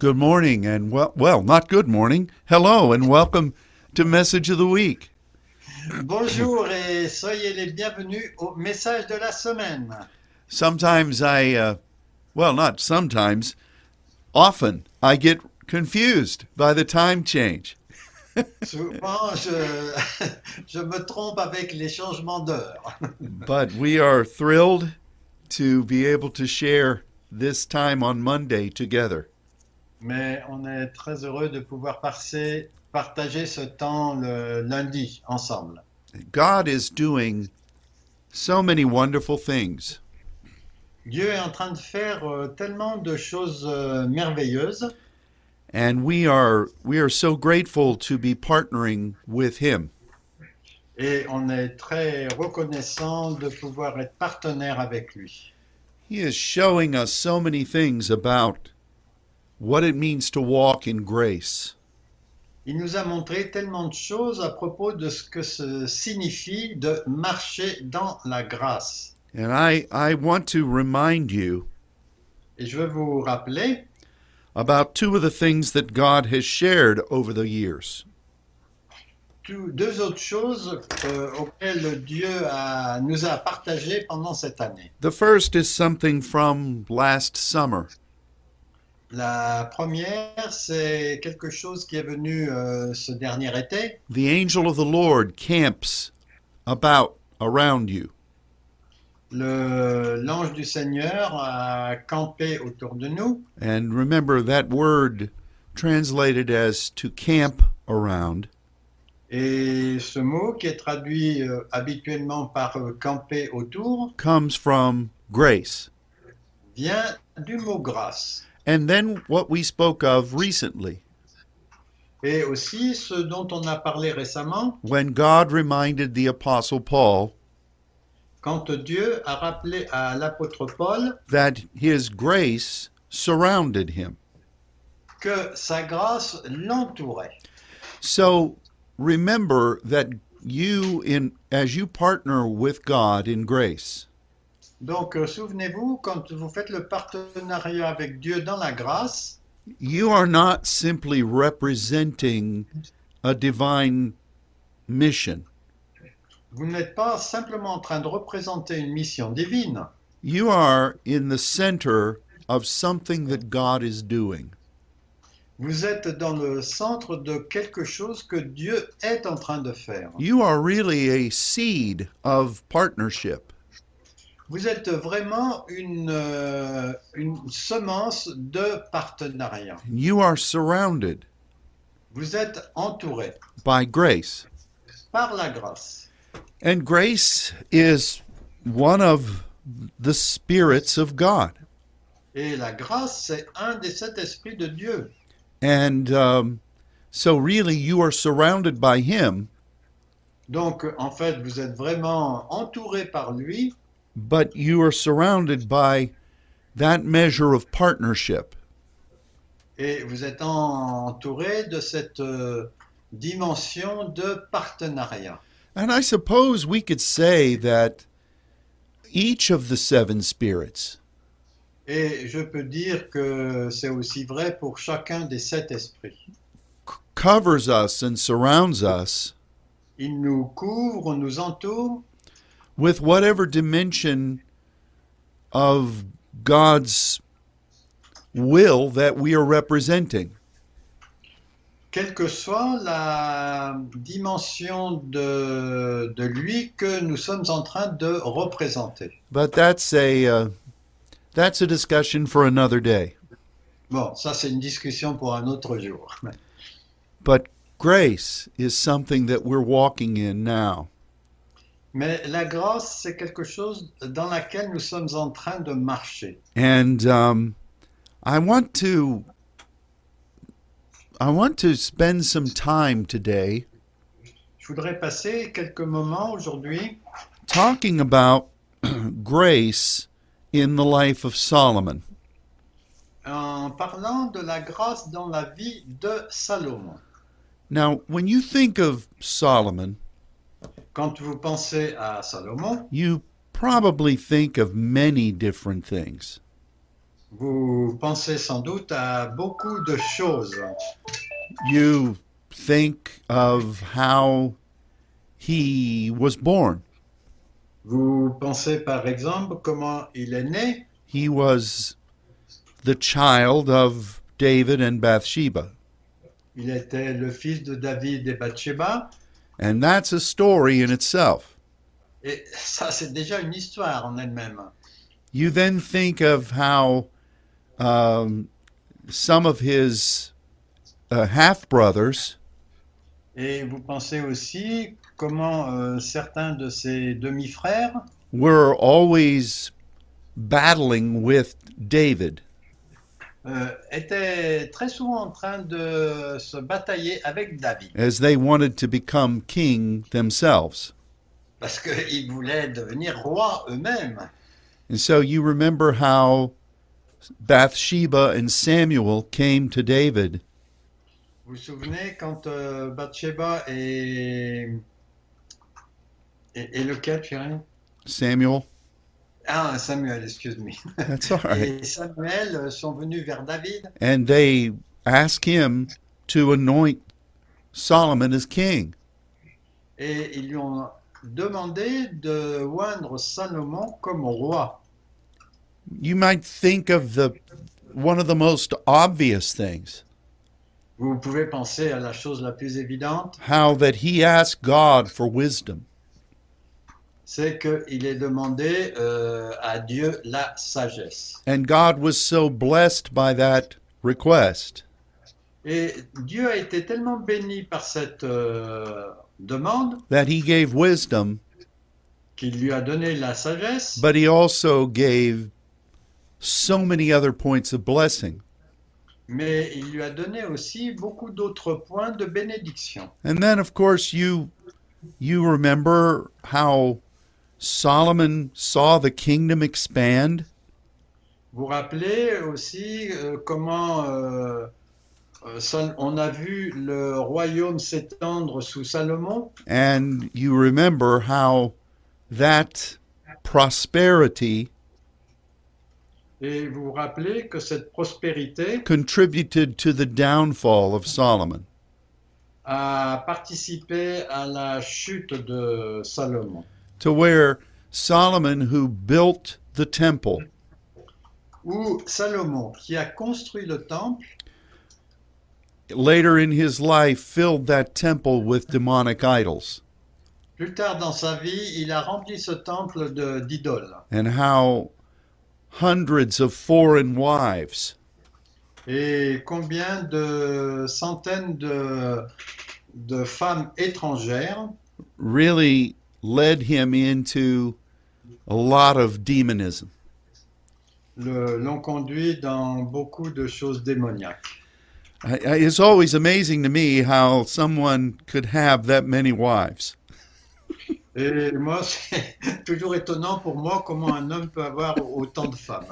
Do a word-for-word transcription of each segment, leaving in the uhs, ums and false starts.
Good morning and well, well, not good morning. Hello and welcome to Message of the Week. Bonjour et soyez les bienvenus au message de la semaine. Sometimes I, uh, well, not sometimes, often I get confused by the time change. Souvent, je, je me trompe avec les changements d'heure. But we are thrilled to be able to share this time on Monday together. Mais on est très heureux de pouvoir passer, partager ce temps le lundi ensemble. God is doing so many wonderful things. Dieu est en train de faire euh, tellement de choses euh, merveilleuses And we are we are so grateful to be partnering with him. et on est très reconnaissant de pouvoir être partenaire avec lui. He is showing us so many things about what it means to walk in grace. Il nous a montré tellement de choses à propos de ce que ça signifie de marcher dans la grâce. And I, I want to remind you Et je veux vous rappeler about two of the things that God has shared over the years. tout- deux autres choses euh, auxquelles Dieu a- nous a partagées pendant cette année. The first is something from last summer. La première, c'est quelque chose qui est venu euh, ce dernier été. The angel of the Lord camps about around you. Le- L'ange du Seigneur a campé autour de nous. And remember that word translated as to camp around Et ce mot qui est traduit euh, habituellement par euh, camper autour comes from grace. vient du mot grâce. And then what we spoke of recently, Et aussi ce dont on a parlé récemment, when God reminded the Apostle Paul quand Dieu a rappelé à l'apôtre Paul that his grace surrounded him. que sa grâce l'entourait. So remember that you, in as you partner with God in grace, Donc euh, souvenez-vous, quand vous faites le partenariat avec Dieu dans la grâce, you are not simply representing a divine mission. vous n'êtes pas simplement en train de représenter une mission divine, You are in the center of something that God is doing. vous êtes dans le centre de quelque chose que Dieu est en train de faire. You are really a seed of partnership. Vous êtes vraiment une, euh, une semence de partenariat. You are surrounded Vous êtes entouré by grace. par la grâce. And grace is one of the spirits of God. Et la grâce, c'est un des sept esprits de Dieu. And um, so, really, you are surrounded by Him, Donc, en fait, vous êtes vraiment entouré par lui, but you are surrounded by that measure of partnership. et vous êtes entouré de cette euh, dimension de partenariat. And I suppose we could say that each of the seven spirits Et je peux dire que c'est aussi vrai pour chacun des sept esprits. c- covers us and surrounds us Il nous couvre, nous entoure with whatever dimension of God's will that we are representing. quelle que soit la dimension de, de lui que nous sommes en train de représenter. But that's a uh, that's a discussion for another day. Bon, ça c'est une discussion pour un autre jour. But grace is something that we're walking in now. Mais la grâce, c'est quelque chose dans laquelle nous sommes en train de marcher. And um, I want to I want to spend some time today Je voudrais passer quelques moments aujourd'hui talking about grace in the life of Solomon. en parlant de la grâce dans la vie de Salomon. Now, when you think of Solomon, Quand vous pensez à Salomon, you probably think of many different things. vous Vous pensez sans doute à beaucoup de choses. You think of how he was born. Vous pensez par exemple comment il est né. He was the child of David and Bathsheba. Il était le fils de David et Bathsheba. And that's a story in itself. Et ça, c'est déjà une histoire en elle-même. You then think of how um, some of his uh, half-brothers Et vous pensez aussi comment euh, certains de ses demi-frères were always battling with David. euh, étaient très souvent en train de se batailler avec David. As they wanted to become king themselves. Parce qu'ils voulaient devenir rois eux-mêmes. And so you remember how Bathsheba and Samuel came to David. Vous vous souvenez quand euh, Bathsheba et... et... Et lequel, Pierre? Samuel? Ah, Samuel, excuse-moi. That's all right. Et Samuel sont venus vers David. And they asked him to anoint Solomon as king. Et ils lui ont demandé de oindre Salomon comme roi. You might think of the one of the most obvious things, Vous pouvez penser à la chose la plus évidente, how that he asked God for wisdom. c'est qu'il est demandé euh, à Dieu la sagesse. And God was so blessed by that request Et Dieu a été tellement béni par cette euh, demande that he gave wisdom, qu'il lui a donné la sagesse, but he also gave so many other points of blessing. mais il lui a donné aussi beaucoup d'autres points de bénédiction. And then of course you you remember how Solomon saw the kingdom expand. Vous vous rappelez aussi euh, comment euh, euh, Sal- on a vu le royaume s'étendre sous Salomon, And you remember how that prosperity et vous vous rappelez que cette prospérité contributed to the downfall of Solomon. a participé à la chute de Salomon, To where Solomon, who built the temple, où Salomon, qui a construit le temple, later in his life filled that temple with demonic idols, plus tard dans sa vie, il a rempli ce temple de- d'idoles. and how hundreds of foreign wives Et combien de centaines de, de femmes étrangères really led him into a lot of demonism. le- l'ont conduit dans beaucoup de choses démoniaques. I- I- It's always amazing to me how someone could have that many wives. Et moi, c'est toujours étonnant pour moi comment un homme peut avoir autant de femmes.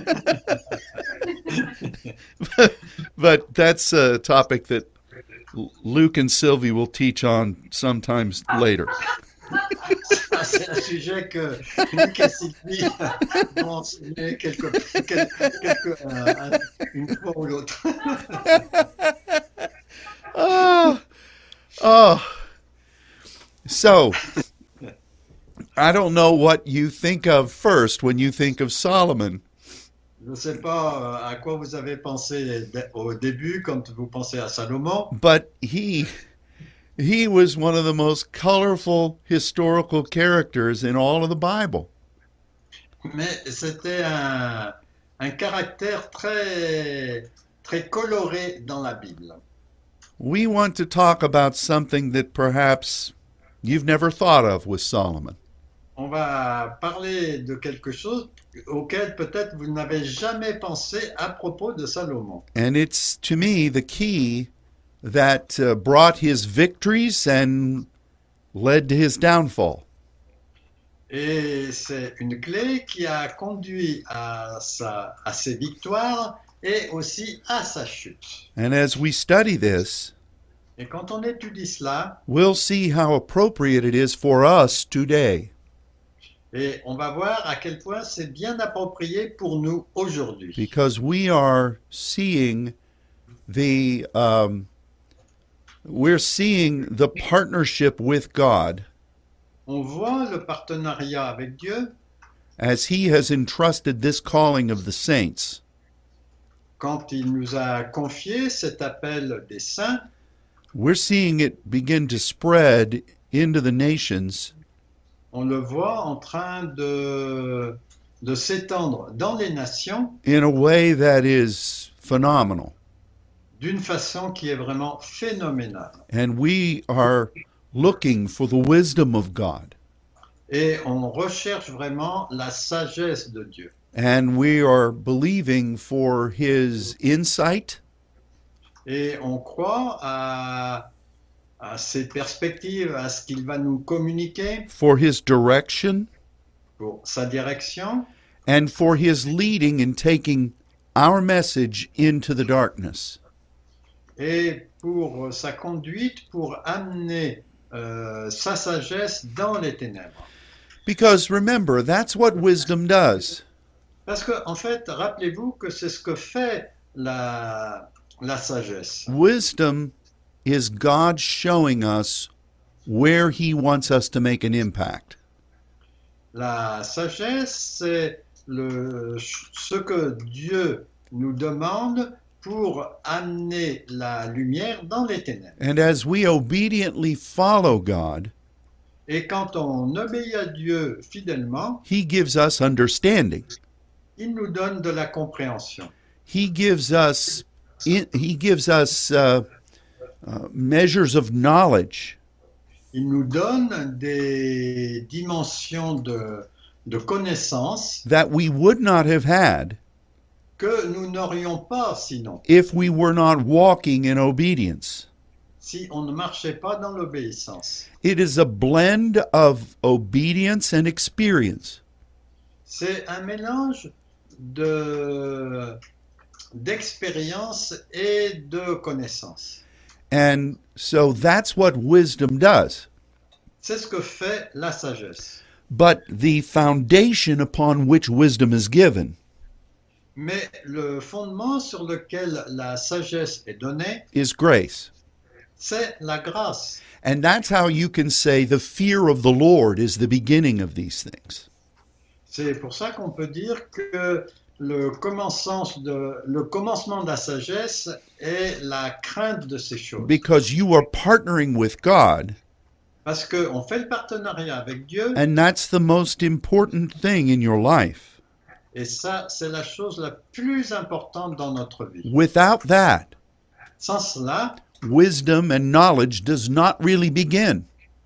But that's a topic that L- Luke and Sylvie will teach on sometimes later. Ça, c'est un sujet que Luc et Sylvie vont enseigner quelque, quel- quelque- euh, une fois ou l'autre. Oh, oh. So, I don't know what you think of first when you think of Solomon, Je ne sais pas euh, à quoi vous avez pensé dé- au début quand vous pensez à Salomon, but he he was one of the most colorful historical characters in all of the Bible. mais c'était un, un caractère très, très coloré dans la Bible. We want to talk about something that perhaps you've never thought of with Solomon. On va parler de quelque chose auquel peut-être vous n'avez jamais pensé à propos de Salomon. And it's, to me, the key that uh, brought his victories and led to his downfall. Et c'est une clé qui a conduit à, sa, à ses victoires et aussi à sa chute. And as we study this, Et quand on étudie cela, we'll see how appropriate it is for us today. Et on va voir à quel point c'est bien approprié pour nous aujourd'hui. because we are seeing the um, we're seeing the partnership with God On voit le partenariat avec Dieu as He has entrusted this calling of the saints. quand il nous a confié cet appel des saints. We're seeing it begin to spread into the nations On le voit en train de, de s'étendre dans les nations in a way that is phenomenal. d'une façon qui est vraiment phénoménale. And we are looking for the wisdom of God. Et on recherche vraiment la sagesse de Dieu. And we are believing for His insight, Et on croit à, à ses perspectives, à ce qu'il va nous communiquer for His direction, pour sa direction and for His leading in taking our message into the darkness. et pour sa conduite pour amener euh, sa sagesse dans les ténèbres. Because remember, that's what wisdom does. Parce que, en fait, rappelez-vous que c'est ce que fait la, la sagesse. Wisdom is God showing us where He wants us to make an impact. La sagesse, c'est le, ce que Dieu nous demande pour amener la lumière dans les ténèbres. And as we obediently follow God, Et quand on obéit à Dieu fidèlement, He gives us understanding. il nous donne de la compréhension. He gives us He gives us uh, uh, measures of knowledge Il nous donne des dimensions de, de connaissances that we would not have had que nous n'aurions pas sinon, if we were not walking in obedience. si on ne marchait pas dans l'obéissance. It is a blend of obedience and experience. C'est un mélange de, d'expérience et de connaissance. And so that's what wisdom does. C'est ce que fait la sagesse. But the foundation upon which wisdom is given Mais le fondement sur lequel la sagesse est donnée, is grace. c'est la grâce. And that's how you can say the fear of the Lord is the beginning of these things. C'est pour ça qu'on peut dire que le commencement de, le commencement de la sagesse est la crainte de ces choses. Because you are partnering with God, Parce qu'on fait le partenariat avec Dieu, and that's the most important thing in your life. et ça, c'est la chose la plus importante dans notre vie. Without that, Sans cela, wisdom and knowledge does not really begin.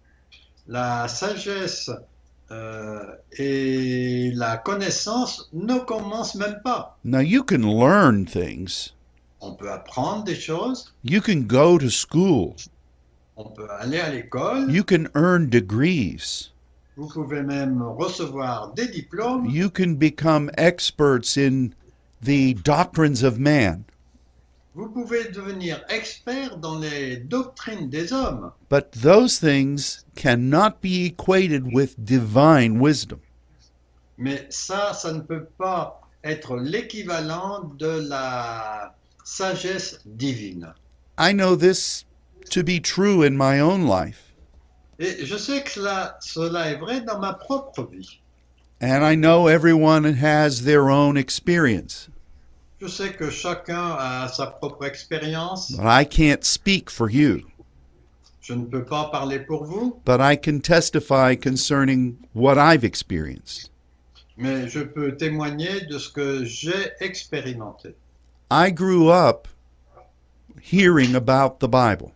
la sagesse euh, et la connaissance ne commencent même pas. Now, you can learn things. On peut apprendre des choses, You can go to school. on peut aller à l'école, You can earn degrees. vous pouvez même recevoir des diplômes, You can become experts in the doctrines of man. vous pouvez devenir expert dans les doctrines des hommes. But those things cannot be equated with divine wisdom. Mais ça, ça ne peut pas être l'équivalent de la sagesse divine. I know this to be true in my own life. Et je sais que cela, cela est vrai dans ma propre vie. And I know everyone has their own experience. Je sais que chacun a sa propre expérience. But I can't speak for you. Je ne peux pas parler pour vous, But I can testify concerning what I've experienced. mais je peux témoigner de ce que j'ai expérimenté. I grew up hearing about the Bible.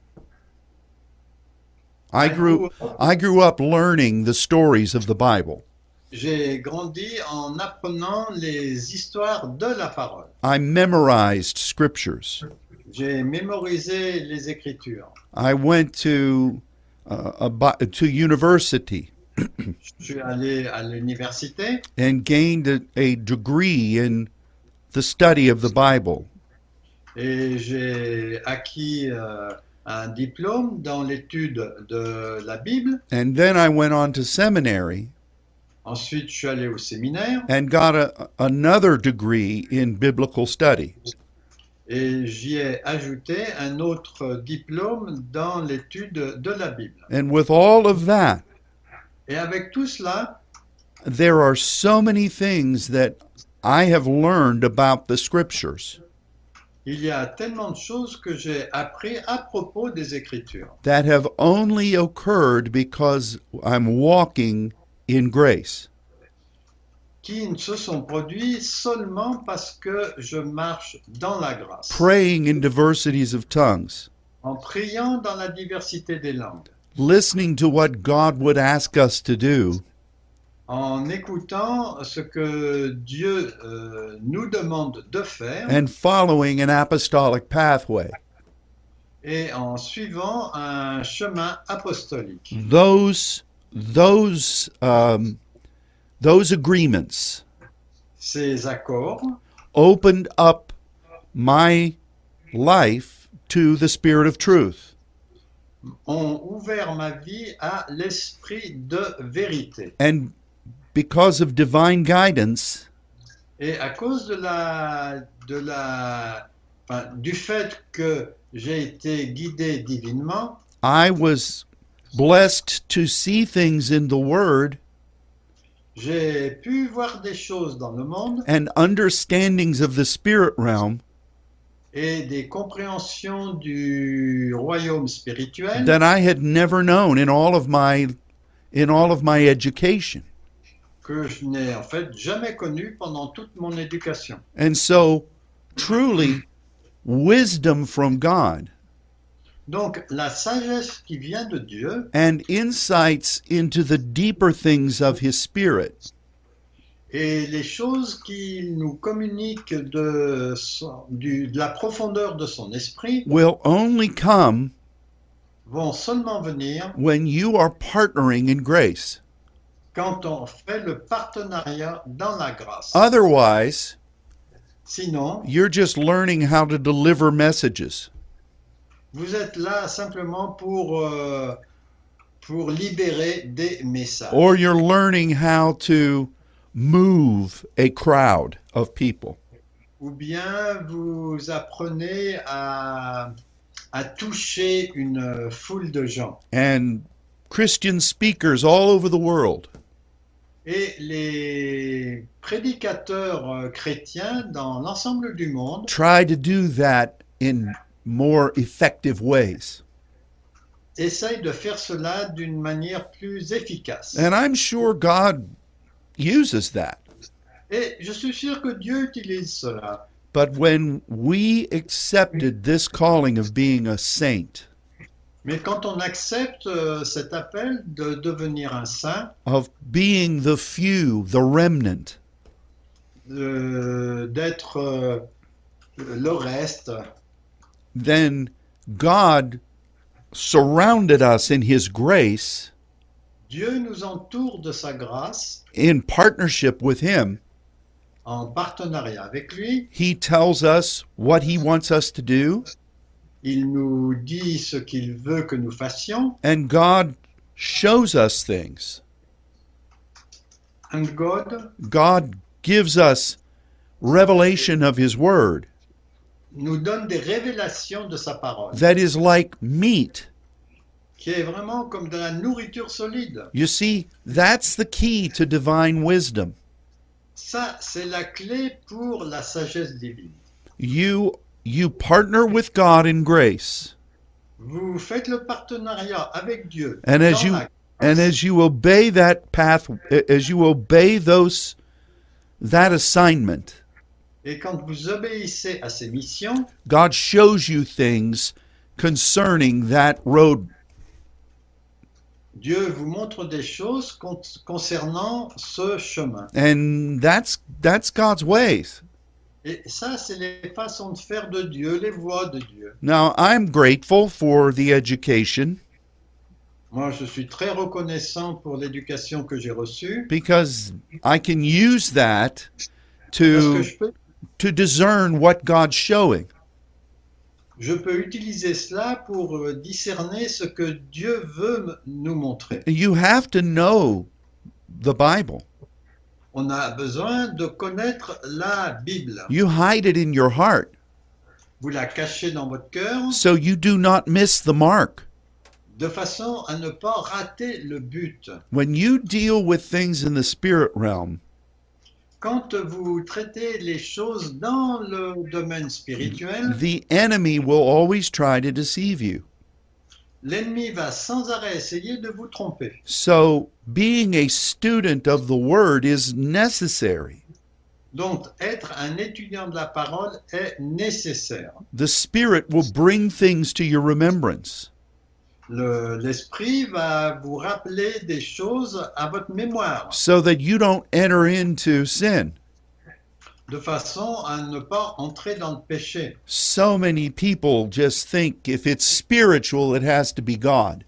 I grew I grew up learning the stories of the Bible. J'ai grandi en apprenant les histoires de la parole. I memorized scriptures. J'ai mémorisé les Écritures. I went to uh, a, bi- to university Je suis allé à l'université and gained a, a degree in the study of the Bible. et j'ai acquis euh, un diplôme dans l'étude de la Bible. And then I went on to seminary Ensuite, je suis allé au séminaire and got a, another degree in biblical study. et j'y ai ajouté un autre diplôme dans l'étude de la Bible. And with all of that, Et avec tout cela, there are so many things that I have learned about the scriptures il y a tellement de choses que j'ai appris à propos des Écritures that have only occurred because I'm walking in grace. qui ne se sont produits seulement parce que je marche dans la grâce, Praying in diversities of tongues, en priant dans la diversité des langues, listening to what God would ask us to do, en écoutant ce que Dieu euh, nous demande de faire and following an apostolic pathway. et en suivant un chemin apostolique. Those those um, those agreements Ces accords opened up my life to the Spirit of truth. ont ouvert ma vie à l'esprit de vérité. And because of divine guidance, Et à cause de la, de la, enfin, du fait que j'ai été guidé divinement, I was blessed to see things in the Word j'ai pu voir des choses dans le monde and understandings of the spirit realm et des compréhensions du royaume spirituel that I had never known in all of my in all of my education. que je n'ai en fait jamais connues pendant toute mon éducation. And so, truly, wisdom from God Donc la sagesse qui vient de Dieu and insights into the deeper things of His Spirit et les choses qu'il nous communique de, son- du- de la profondeur de son esprit will only come vont seulement venir when you are partnering in grace. quand on fait le partenariat dans la grâce. Otherwise, Sinon, you're just learning how to deliver messages. vous êtes là simplement pour, euh, pour libérer des messages. Or you're learning how to move a crowd of people. Ou bien vous apprenez à, à toucher une foule de gens. And Christian speakers all over the world Et les prédicateurs euh, chrétiens dans l'ensemble du monde try to do that in more effective ways. essayent de faire cela d'une manière plus efficace. And I'm sure God uses that. Et je suis sûr que Dieu utilise cela. But when we accepted this calling of being a saint, Mais quand on accepte euh, cet appel de devenir un saint, of being the few, the remnant, euh, d'être euh, le reste, then God surrounded us in His grace Dieu nous entoure de sa grâce in partnership with Him. en partenariat avec lui. He tells us what He wants us to do, Il nous dit ce qu'il veut que nous fassions. and God shows us things. And God God gives us revelation of His Word nous donne des révélations de sa parole, that is like meat. qui est vraiment comme de la nourriture solide. You see, that's the key to divine wisdom. Ça, c'est la clé pour la sagesse divine. You you partner with God in grace, Vous faites le partenariat avec Dieu. and as dans you la and as you obey that path, as you obey those that assignment, Et quand vous obéissez à ces missions, God shows you things concerning that road. Dieu vous montre des choses con- concernant ce chemin. And that's that's God's ways. Et ça, c'est les façons de faire de Dieu, les voies de Dieu. Now, I'm grateful for the education Moi, je suis très reconnaissant pour l'éducation que j'ai reçue, because I can use that parce que to je peux, to discern what God's showing. je peux utiliser cela pour euh, discerner ce que Dieu veut me- nous montrer. You have to know the Bible. On a besoin de connaître la Bible. You hide it in your heart Vous la cachez dans votre cœur so you do not miss the mark. de façon à ne pas rater le but. When you deal with things in the spirit realm, Quand vous traitez les choses dans le domaine spirituel, the enemy will always try to deceive you. l'ennemi va sans arrêt essayer de vous tromper. So being a student of the word is necessary. Donc, être un étudiant de la parole est nécessaire. The Spirit will bring things to your remembrance. Le- L'esprit va vous rappeler des choses à votre mémoire, So that you don't enter into sin. de façon à ne pas entrer dans le péché. So many people just think if it's spiritual, it has to be God.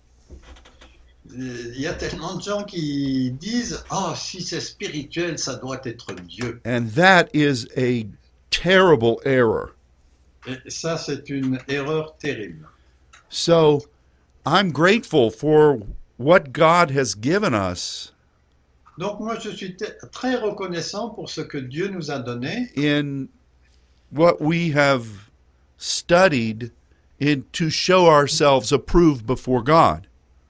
Il y a tellement de gens qui disent « Oh, si c'est spirituel, ça doit être Dieu. And that is a terrible error. » Et ça, c'est une erreur terrible. So I'm grateful for what God has given us Donc moi, je suis te- très reconnaissant pour ce que Dieu nous a donné in what we have studied in to show ourselves approved before God.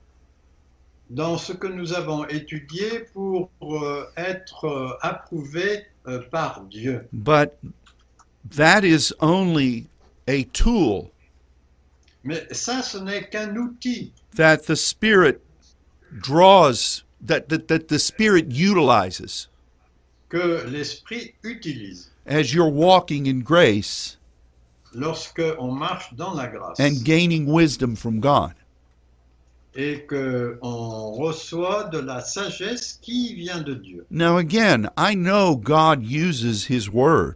dans ce que nous avons étudié pour euh, être euh, approuvés euh, par Dieu. But that is only a tool Mais ça, ce n'est qu'un outil that the Spirit draws, that, that, that the Spirit utilizes que l'Esprit utilise as you're walking in grace lorsque on marche dans la grâce and gaining wisdom from God. et qu'on reçoit de la sagesse qui vient de Dieu. Now, again, I know God uses His Word.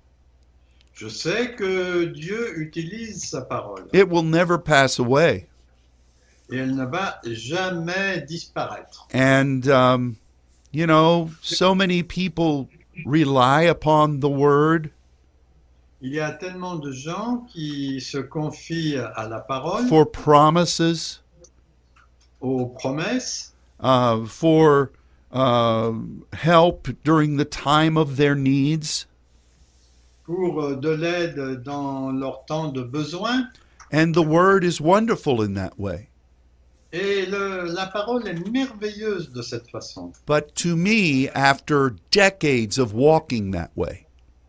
Je sais que Dieu utilise sa parole It will never pass away. et elle ne va jamais disparaître. And, um, you know, so many people rely upon the Word Il y a tellement de gens qui se confient à la parole, for promises, aux promesses, uh, for uh, help during the time of their needs. pour euh, de l'aide dans leur temps de besoin. And the Word is wonderful in that way. Et le- la parole est merveilleuse de cette façon. But to me, after decades of walking that way,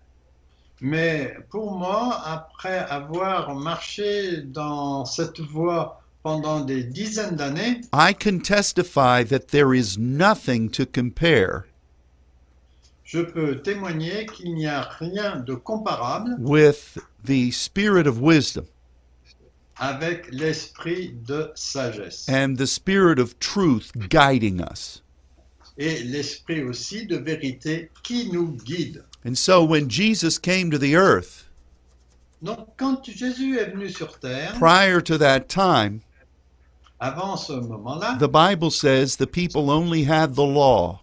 Mais pour moi, après avoir marché dans cette voie pendant des dizaines d'années, I can testify that there is nothing to compare je peux témoigner qu'il n'y a rien de comparable with the Spirit of wisdom avec l'esprit de sagesse and the Spirit of truth guiding us. et l'esprit aussi de vérité qui nous guide. And so when Jesus came to the earth, Donc quand Jésus est venu sur terre, prior to that time, avant ce moment-là, the Bible says the people only had the law.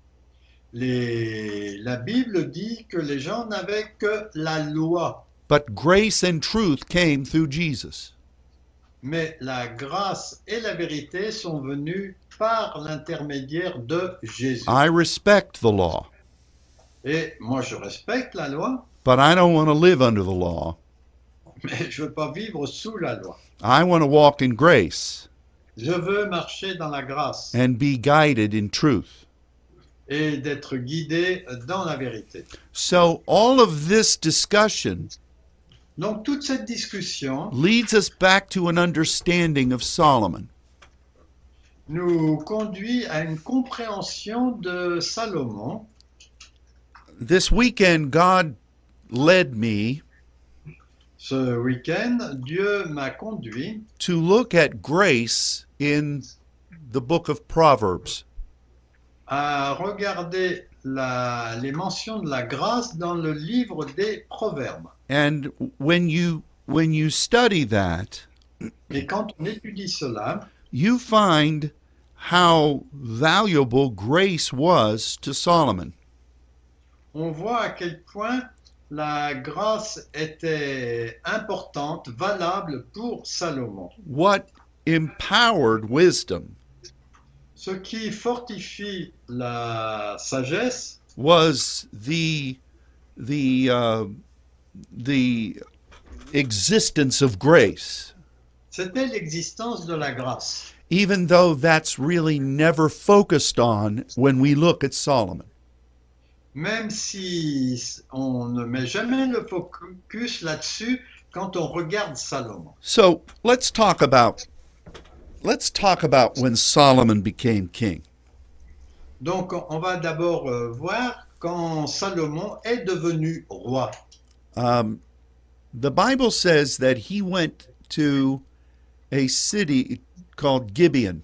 les- la Bible dit que les gens n'avaient que la loi, But grace and truth came through Jesus. mais la grâce et la vérité sont venues par l'intermédiaire de Jésus. I respect the law, Et moi, je respecte la loi, but I don't want to live under the law. mais je ne veux pas vivre sous la loi. I want to walk in grace Je veux marcher dans la grâce and be guided in truth. et d'être guidé dans la vérité. So all of this discussion Donc, toute cette discussion leads us back to an understanding of Solomon. nous conduit à une compréhension de Salomon. This weekend, God led me Ce week-end, Dieu m'a conduit to look at grace in the book of Proverbs. à regarder la- les mentions de la grâce dans le livre des Proverbes. And when you when you study that, Et quand on étudie cela, you find how valuable grace was to Solomon. on voit à quel point la grâce était importante, valable pour Salomon. What empowered wisdom Ce qui fortifie la sagesse was the the uh, the existence of grace, C'était l'existence de la grâce, even though that's really never focused on when we look at Solomon. même si on ne met jamais le focus là-dessus quand on regarde Salomon. So let's talk about let's talk about when Solomon became king. Donc on va d'abord euh, voir quand Salomon est devenu roi. Um, the Bible says that he went to a city called Gibeon.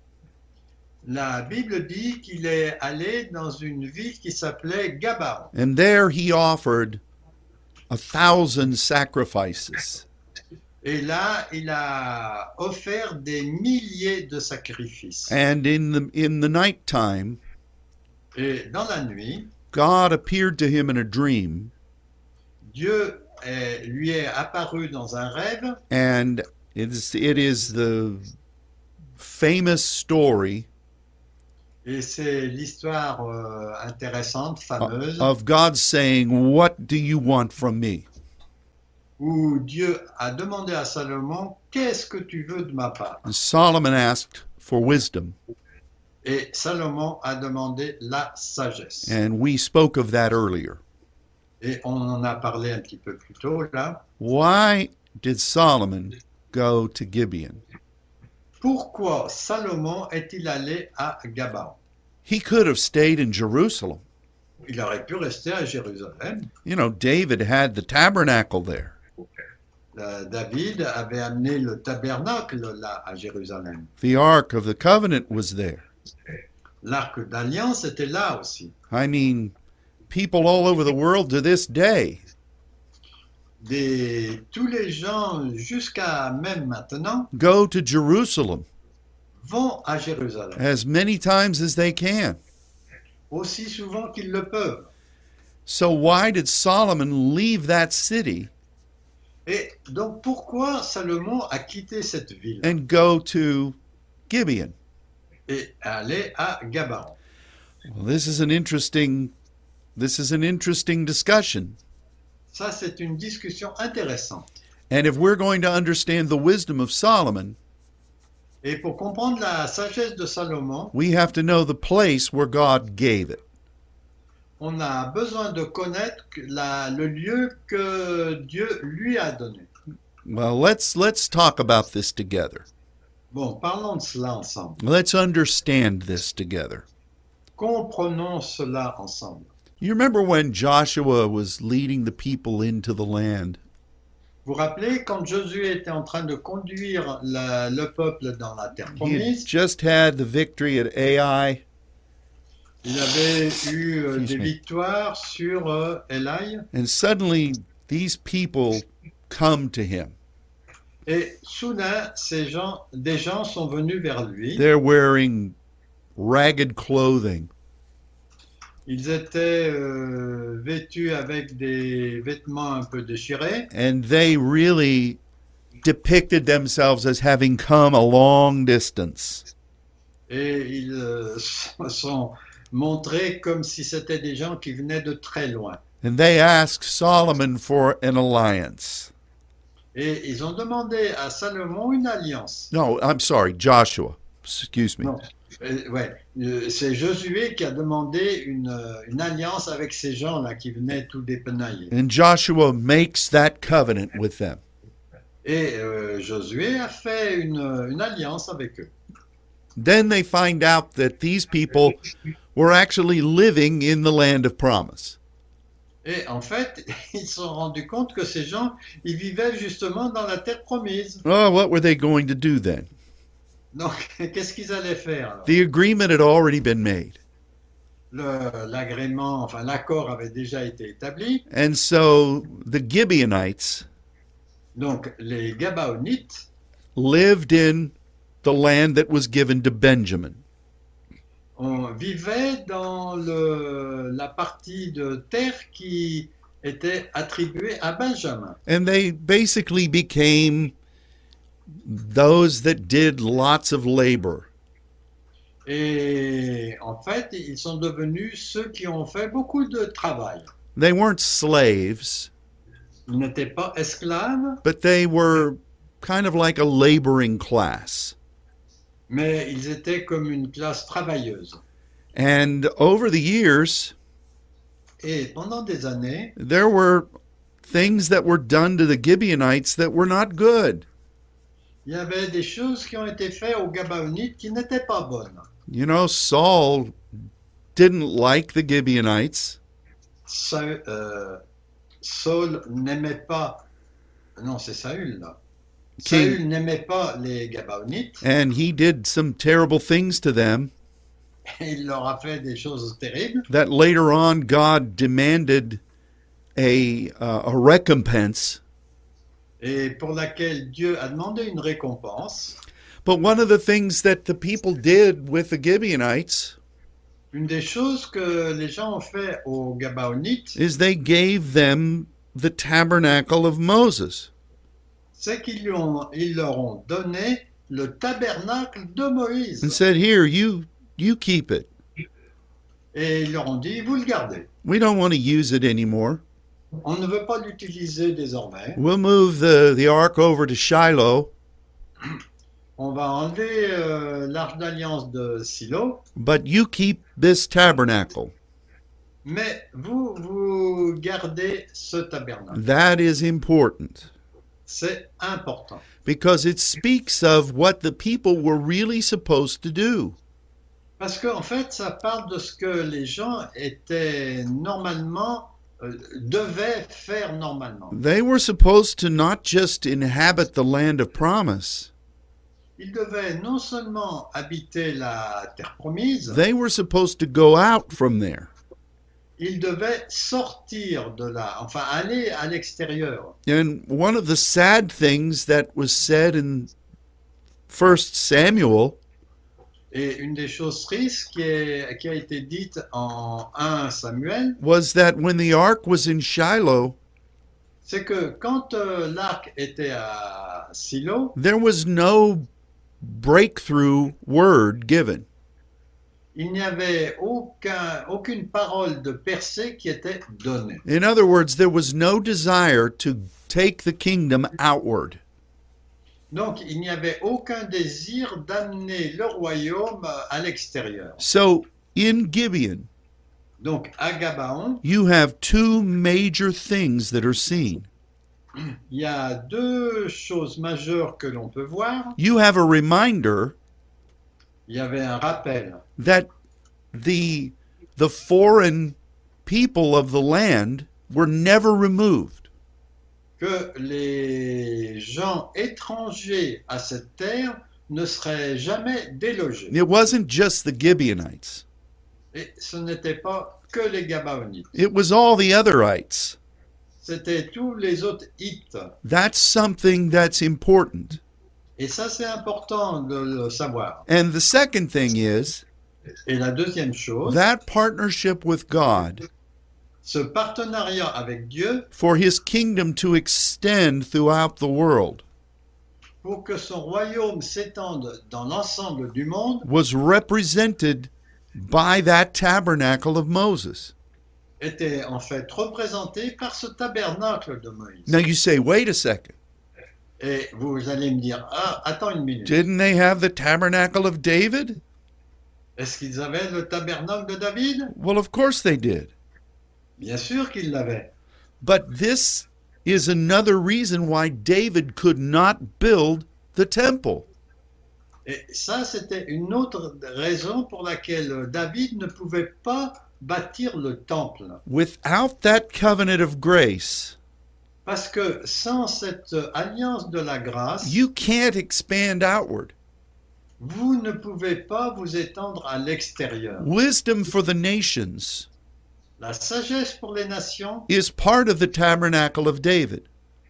La Bible dit qu'il est allé dans une ville qui s'appelait Gabaon. And there he offered a thousand sacrifices. Et là, il a offert des milliers de sacrifices. And in the in the nighttime, Et dans la nuit, God appeared to him in a dream, Dieu est- lui est apparu dans un rêve. and it is, it is the famous story Et c'est l'histoire euh, intéressante, fameuse, of God saying, "What do you want from me?" où Dieu a demandé à Salomon, qu'est-ce que tu veux de ma part? And Solomon asked for wisdom, Et Salomon a demandé la sagesse. and we spoke of that earlier. Et on en a parlé un petit peu plus tôt là. Why did Solomon go to Gibeon? Pourquoi Salomon est-il allé à Gabaon? He could have stayed in Jerusalem. Il aurait pu rester à Jérusalem. You know, David had the tabernacle there. Euh, David avait amené le tabernacle là à Jérusalem. The Ark of the Covenant was there. L'arc d'alliance était là aussi. I mean, people all over the world to this day Des, tous les gens, jusqu'à même maintenant, go to Jerusalem vont à Jérusalem, as many times as they can. aussi souvent qu'ils le peuvent. So why did Solomon leave that city Et donc pourquoi Salomon a quitté cette ville and go to Gibeon? et aller à Gabaon? Well, this is an interesting this is an interesting discussion. Ça, c'est une discussion intéressante. And if we're going to understand the wisdom of Solomon, Et pour comprendre la sagesse de Salomon, we have to know the place where God gave it. on a besoin de connaître la- le lieu que Dieu lui a donné. Well, let's let's talk about this together. Bon, parlons de cela ensemble. Let's understand this together. Comprenons cela ensemble. You remember when Joshua was leading the people into the land, Vous vous rappelez, quand Josué était en train de conduire la- le peuple dans la terre he had promise, just had the victory at Ai, il avait eu euh, Excuse des me. victoires sur euh, Elaï, and suddenly these people come to him. et soudain, ces gens, des gens sont venus vers lui. They're wearing ragged clothing. Ils étaient euh, vêtus avec des vêtements un peu déchirés, And they really depicted themselves as having come a long distance. et ils euh, se sont montrés comme si c'était des gens qui venaient de très loin. And they asked Solomon for an alliance. Et ils ont demandé à Salomon une alliance. No, I'm sorry, Joshua. Excuse me. Non, euh, ouais, euh, c'est Josué qui a demandé une, euh, une alliance avec ces gens-là qui venaient tout dépenailler. And Joshua makes that covenant with them. Et euh, Josué a fait une, une alliance avec eux. Then they find out that these people were actually living in the land of promise. Et en fait, ils se sont rendus compte que ces gens, ils vivaient justement dans la terre promise. Oh, what were they going to do then? Donc, qu'est-ce qu'ils allaient faire alors? The agreement had already been made. Le- L'agrément, enfin l'accord avait déjà été établi. And so the Gibeonites Donc, les Gabaonites lived in the land that was given to Benjamin. on vivait dans le, la partie de terre qui était attribuée à Benjamin. And they basically became those that did lots of labor. Et en fait, ils sont devenus ceux qui ont fait beaucoup de travail. They weren't slaves, Ils n'étaient pas esclaves, but they were kind of like a laboring class. mais ils étaient comme une classe travailleuse. And over the years, Et pendant des années, there were things that were done to the Gibeonites that were not good. il y avait des choses qui ont été faites aux Gabaonites qui n'étaient pas bonnes. You know, Saul didn't like the Gibeonites, Saul, euh, Saul n'aimait pas, non c'est Saül là. King. Saül n'aimait pas les Gabaonites and he did some terrible things to them et il leur a fait des choses terribles that later on God demanded a, uh, a recompense. et pour laquelle Dieu a demandé une récompense. But one of the things that the people did with the Gibeonites Une des choses que les gens ont fait aux Gabaonites, is they gave them the tabernacle of Moses. c'est qu'ils lui ont- ils leur ont donné le tabernacle de Moïse. And said, here, you you keep it. Et ils leur ont dit, vous le gardez. We don't want to use it anymore. On ne veut pas l'utiliser désormais. We'll move the, the ark over to Shiloh, On va enlever euh, l'arche d'alliance de Silo, but you keep this tabernacle. mais vous, vous gardez ce tabernacle. That is important C'est important. because it speaks of what the people were really supposed to do. Parce qu'en fait, ça parle de ce que les gens étaient normalement, euh, devaient faire normalement. They were supposed to not just inhabit the land of promise, Ils devaient non seulement habiter la terre promise, they were supposed to go out from there. ils devaient sortir de là, enfin aller à l'extérieur. And one of the sad things that was said in First Samuel Et une des choses tristes qui, est- qui a été dite en un Samuel, was that when the ark was in Shiloh, c'est que quand euh, l'arc était à Silo, there was no breakthrough word given. il n'y avait aucun, aucune parole de percée qui était donnée. In other words, there was no desire to take the kingdom outward. Donc, il n'y avait aucun désir d'amener le royaume à l'extérieur. So in Gibeon, Donc, à Gabaon, you have two major things that are seen. il y a deux choses majeures que l'on peut voir. You have a reminder Il y avait un rappel that the the foreign people of the land were never removed. que les gens étrangers à cette terre ne seraient jamais délogés. It wasn't just the Gibeonites. Et ce n'était pas que les Gabaonites. It was all the otherites. C'était tous les autres Hittes. That's something that's important. Et ça, c'est important de le savoir. And the second thing is Et la deuxième chose, that partnership with God ce partenariat avec Dieu for his kingdom to extend throughout the world pour que son royaume s'étende dans l'ensemble du monde was represented by that tabernacle of Moses. était en fait représenté par ce tabernacle de Moïse. Now you say, wait a second. Et vous allez me dire, ah, attends une minute. Didn't they have the tabernacle of David? Est-ce qu'ils avaient le tabernacle de David? Well, of course they did. Bien sûr qu'ils l'avaient. But this is another reason why David could not build the temple. Et ça, c'était une autre raison pour laquelle David ne pouvait pas bâtir le temple. Without that covenant of grace, Parce que sans cette alliance de la grâce, you can't expand outward. vous ne pouvez pas vous étendre à l'extérieur. Wisdom for the nations La sagesse pour les nations, is part of the tabernacle of David.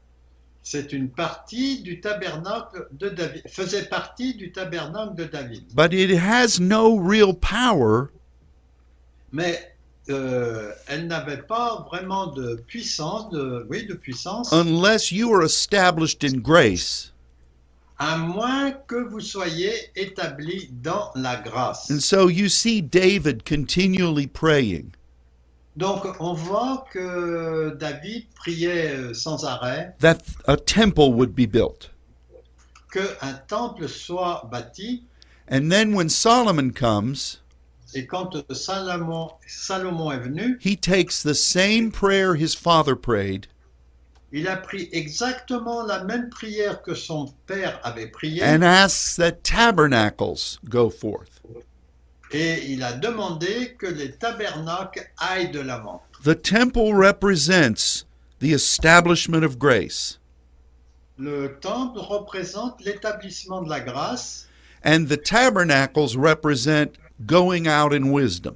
c'est une partie du tabernacle de David, faisait partie du tabernacle de David. But it has no real power Mais euh, elle n'avait pas vraiment de puissance, de, oui, de puissance, unless you are established in grace à moins que vous soyez établis dans la grâce. And so you see David continually praying. Donc on voit que David priait sans arrêt that a temple would be built. qu'un temple soit bâti. And then when Solomon comes, Et quand Salomon, Salomon est venu, he takes the same prayer his father prayed, il a pris exactement la même prière que son père avait priée and asks that tabernacles go forth. et il a demandé que les tabernacles aillent de l'avant. The temple represents the establishment of grace, Le temple représente l'établissement de la grâce and the tabernacles represent going out in wisdom.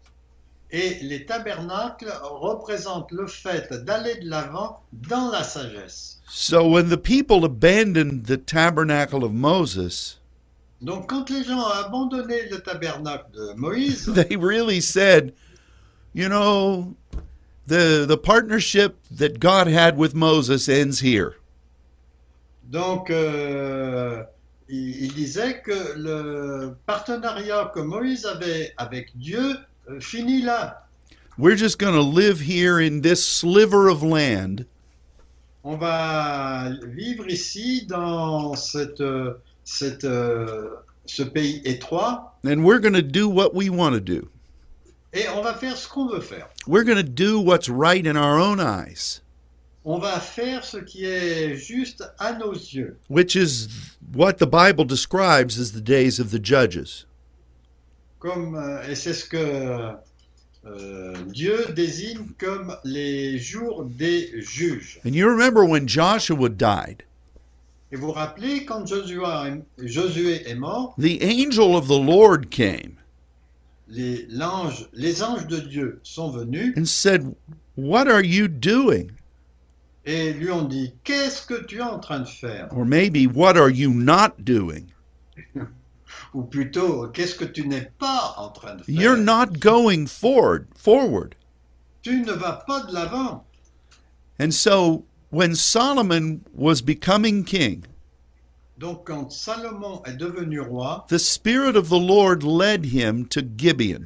et les tabernacles représentent le fait d'aller de l'avant dans la sagesse. So when the people abandoned the tabernacle of Moses, Donc quand les gens ont abandonné le tabernacle de Moïse, they really said, you know, the the partnership that God had with Moses ends here. donc euh, il, il disait que le partenariat que Moïse avait avec Dieu euh, finit là. We're just going to live here in this sliver of land, On va vivre ici dans cette, euh, cette, euh, ce pays étroit and we're going to do what we want to do. et on va faire ce qu'on veut faire. We're going to do what's right in our own eyes, On va faire ce qui est juste à nos yeux, which is what the Bible describes as the days of the judges. comme, euh, et c'est ce que euh, Dieu désigne comme les jours des juges. And you remember when Joshua died, Et vous vous rappelez, quand Josué, Josué est mort, the angel of the Lord came les, l'ange, les anges de Dieu sont venus and said, "What are you doing?" et lui ont dit, qu'est-ce que tu es en train de faire? Or maybe, "What are you not doing?" Ou plutôt, qu'est-ce que tu n'es pas en train de faire? You're not going forward, forward. Tu ne vas pas de l'avant. And so when Solomon was becoming king, Donc quand Salomon est devenu roi, the Spirit of the Lord led him to Gibeon.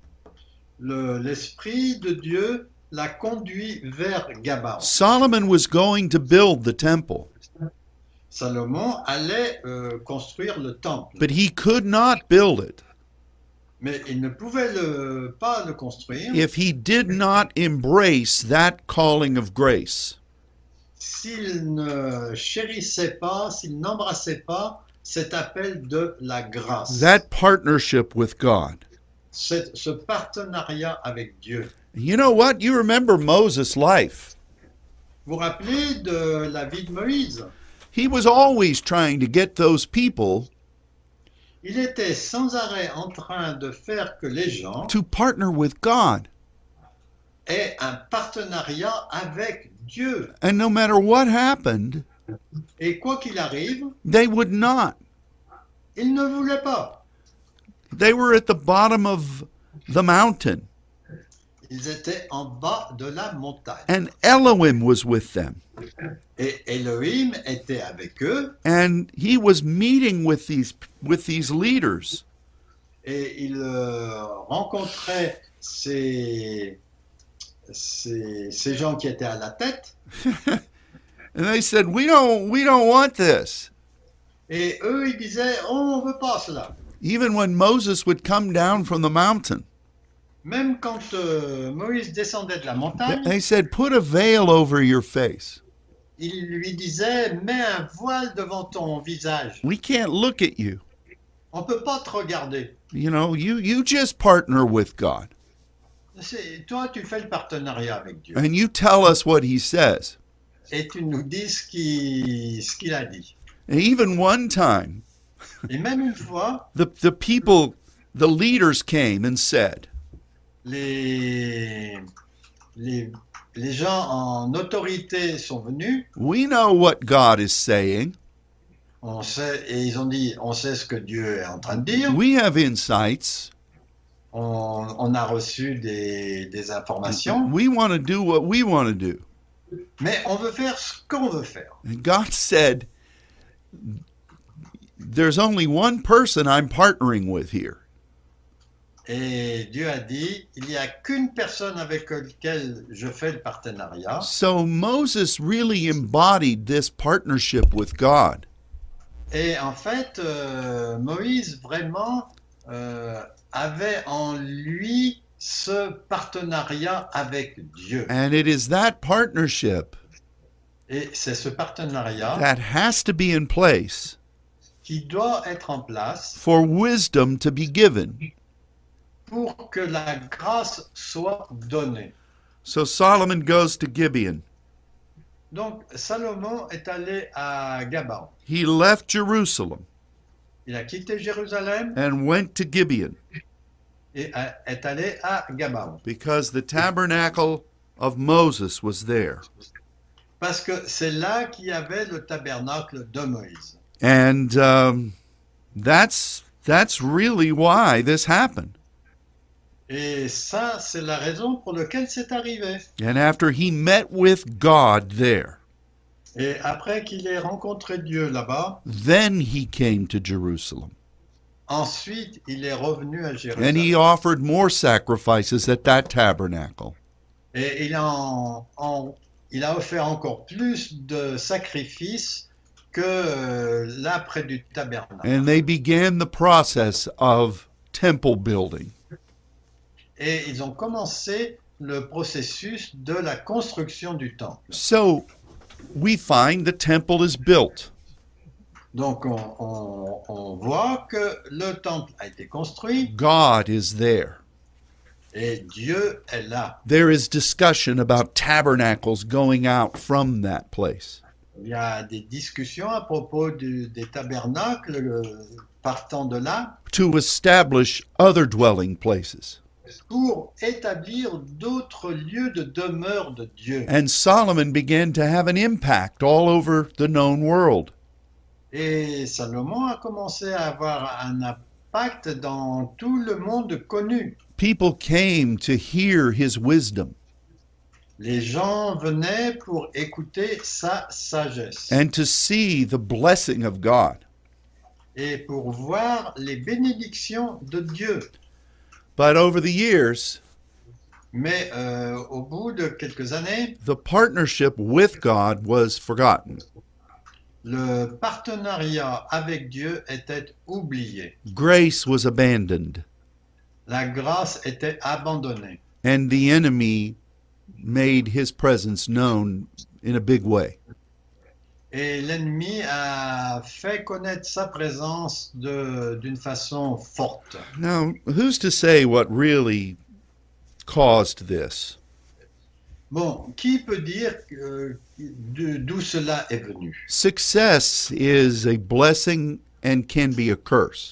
le- l'Esprit de Dieu l'a conduit vers Gabaon. Solomon was going to build the temple, Salomon allait euh, construire le temple, but he could not build it mais il ne pouvait le- pas le construire if he did not embrace that calling of grace. s'il ne chérissait pas, s'il n'embrassait pas cet appel de la grâce, That partnership with God. Cet- ce partenariat avec Dieu. You know what? You remember Moses' life. Vous vous rappelez de la vie de Moïse? He was always trying to get those people Il était sans arrêt en train de faire que les gens to partner with God. aient un partenariat avec Dieu. And no matter what happened, Et quoi qu'il arrive, they would not. ils ne voulaient pas. They were at the bottom of the mountain, Ils étaient en bas de la montagne. and Elohim was with them. Et Elohim était avec eux And he was meeting with these with these leaders. et il euh, rencontrait ces, ces, ces gens qui étaient à la tête. And they said, "We don't we don't want this." Et eux, ils disaient, oh, on ne veut pas cela. Even when Moses would come down from the mountain, Même quand euh, Moïse descendait de la montagne, they said, "Put a veil over your face. il lui disait, mets un voile devant ton visage. We can't look at you. On ne peut pas te regarder. You know, you you just partner with God C'est, toi, tu fais le partenariat avec Dieu. and you tell us what he says." Et tu nous dis ce qu'il, ce qu'il a dit. And even one time, Et même une fois, the the people, the leaders came and said, les, les, les gens en autorité sont venus. "We know what God is saying. On sait, et ils ont dit, on sait ce que Dieu est en train de dire. We have insights. On, on a reçu des, des informations. We want to do what we want to do." Mais on veut faire ce qu'on veut faire. And God said, there's only one person I'm partnering with here. Et Dieu a dit, il n'y a qu'une personne avec laquelle je fais le partenariat. So Moses really embodied this partnership with God. Et en fait, euh, Moïse vraiment euh, avait en lui ce partenariat avec Dieu. And it is that partnership Et c'est ce partenariat that has to be in place qui doit être en place for wisdom to be given. pour que la grâce soit donnée. So Solomon goes to Gibeon. Donc, Salomon est allé à Gabaon. He left Jerusalem Il a quitté Jérusalem and went to Gibeon et a- est allé à Gabaon. because the tabernacle of Moses was there. Parce que c'est là qu'il y avait le tabernacle de Moïse. And um, that's that's really why this happened. Et ça, c'est la raison pour laquelle c'est arrivé. And after he met with God there, Et après qu'il ait rencontré Dieu là-bas, then he came to Jerusalem. ensuite, il est revenu à And he Jérusalem. offered more sacrifices at that tabernacle. Et il a, en- en- il a offert encore plus de sacrifices que euh, là près du tabernacle. And they began the process of temple building. Et ils ont commencé le processus de la construction du temple. So we find the temple is built. Donc on, on- on voit que le temple a été construit God is there. et Dieu est là. There is discussion about tabernacles going out from that place. Il y a des discussions à propos du- des tabernacles euh, partant de là To establish other dwelling places. pour établir d'autres lieux de demeure de Dieu. And Solomon began to have an impact all over the known world. Et Salomon a commencé à avoir un impact dans tout le monde connu. People came to hear his wisdom Les gens venaient pour écouter sa sagesse and to see the blessing of God. et pour voir les bénédictions de Dieu. But over the years, Mais euh, au bout de quelques années, the partnership with God was forgotten. le partenariat avec Dieu était oublié. Grace was abandoned, La grâce était abandonnée. and the enemy made his presence known in a big way. Et l'ennemi a fait connaître sa présence de- d'une façon forte. Now, who's to say what really caused this? Bon, qui peut dire euh, de- d'où cela est venu? Success is a blessing and can be a curse.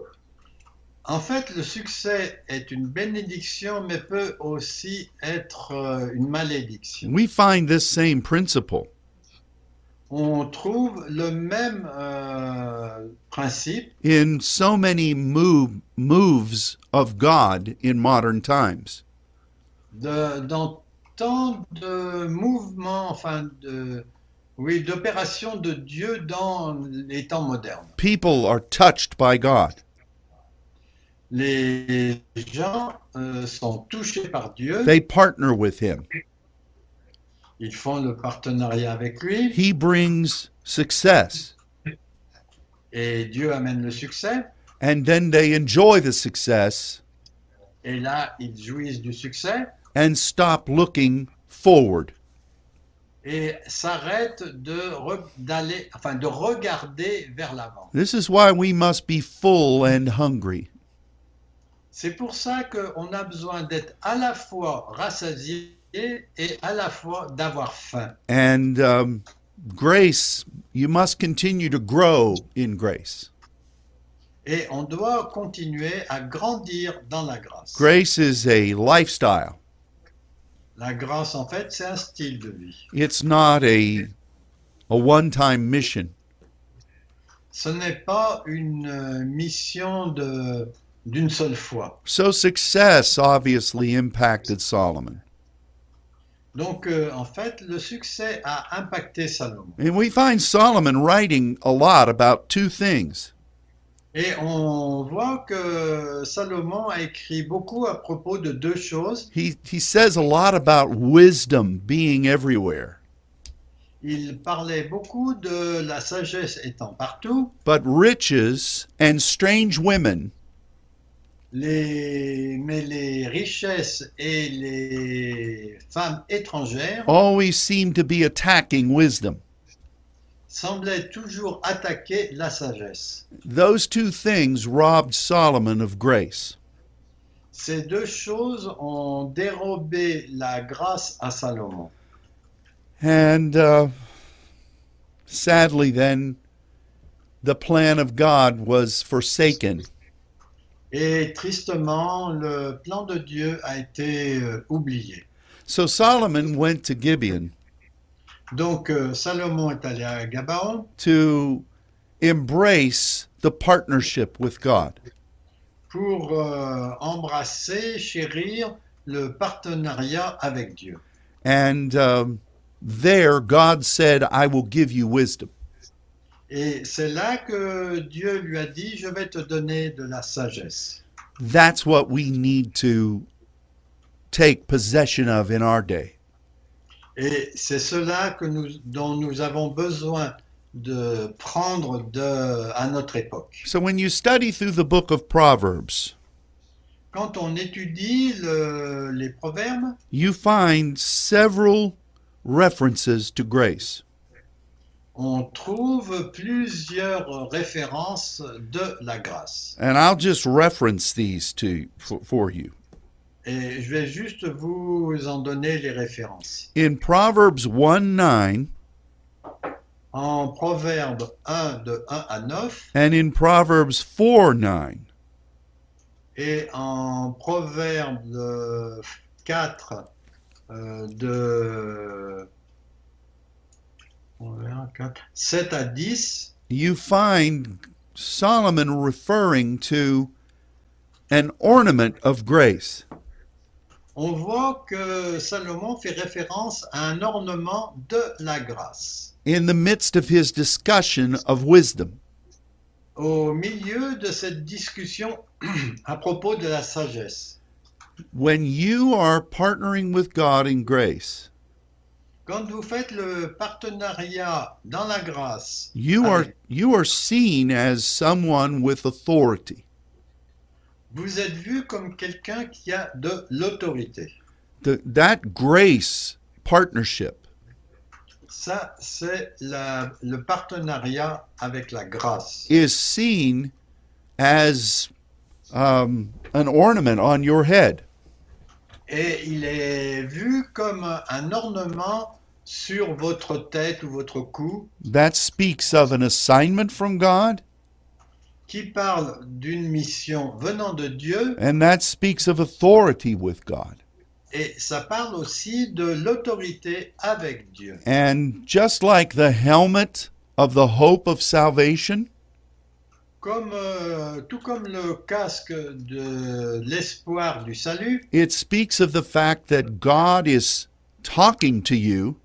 En fait, le succès est une bénédiction, mais peut aussi être euh, une malédiction. We find this same principle On trouve le même euh, principe in so many move, moves of God in modern times. de, dans tant de mouvements, enfin de, oui, d'opérations de Dieu dans les temps modernes. People are touched by God. Les gens euh, sont touchés par Dieu, They partner with him. ils font le partenariat avec lui He brings success, et Dieu amène le succès. and then they enjoy the success Et là, ils jouissent du succès and stop looking forward. et s'arrêtent de re- d'aller, enfin de regarder vers l'avant. This is why we must be full and hungry. C'est pour ça qu'on a besoin d'être à la fois rassasié et à la fois d'avoir faim. And um, grace, you must continue to grow in grace. Et on doit continuer à grandir dans la grâce. Grace is a lifestyle. La grâce, en fait, c'est un style de vie. It's not a, a one-time mission. Ce n'est pas une euh, mission de, d'une seule fois. So success obviously impacted Solomon. Donc, euh, en fait, le succès a impacté Salomon. And we find Solomon writing a lot about two things. Et on voit que Salomon a écrit beaucoup à propos de deux choses. He, he says a lot about wisdom being everywhere, Il parlait beaucoup de la sagesse étant partout, but riches and strange women les, mais les richesses et les femmes étrangères always seem to be attacking wisdom. semblaient toujours attaquer la sagesse. Those two things robbed Solomon of grace. Ces deux choses ont dérobé la grâce à Salomon. And uh, sadly, then, the plan of God was forsaken. Et tristement, le plan de Dieu a été euh, oublié. So Solomon went to Gibeon Donc euh, Salomon est allé à Gabaon to embrace the partnership with God. pour euh, embrasser, chérir le partenariat avec Dieu. And um, there, God said, I will give you wisdom. Et c'est là que Dieu lui a dit, je vais te donner de la sagesse. That's what we need to take possession of in our day. Et c'est cela que nous, dont nous avons besoin de prendre de, à notre époque. So when you study through the book of Proverbs, Quand on étudie le- les proverbes, you find several references to grace. on trouve plusieurs références de la grâce. And I'll just reference these to for, for you. Et je vais juste vous en donner les références. In Proverbs one nine En Proverbe un, de un à neuf, and in Proverbs four nine, et en Proverbe euh, quatre, euh, de Proverbe quatre, sept à dix, you find Solomon referring to an ornament of grace. on voit que Salomon fait référence à un ornement de la grâce. In the midst of his discussion of wisdom. Au milieu de cette discussion à propos de la sagesse, When you are partnering with God in grace, quand vous faites le partenariat dans la grâce, you are avec- you are seen as someone with authority. vous êtes vu comme quelqu'un qui a de l'autorité. The, that grace partnership Ça, c'est la- le partenariat avec la grâce. is seen as um, an ornament on your head. Et il est vu comme un ornement sur votre tête ou votre cou That speaks of an assignment from God, qui parle d'une mission venant de Dieu and that speaks of authority with God. et ça parle aussi de l'autorité avec Dieu. And just like the helmet of the hope of salvation, Comme, euh, tout comme le casque de l'espoir du salut, it speaks of the fact that God is talking to you.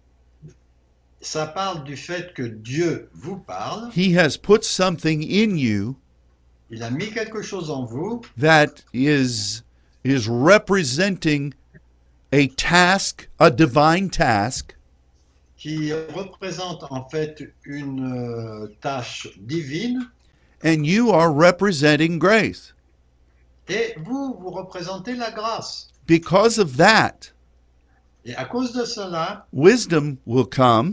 ça parle du fait que Dieu vous parle. He has put something in you Il a mis quelque chose en vous that is is representing a task, a divine task, qui représente en fait une euh, tâche divine and you are representing grace. et vous, vous représentez la grâce. Because of that, Et à cause de cela, wisdom will come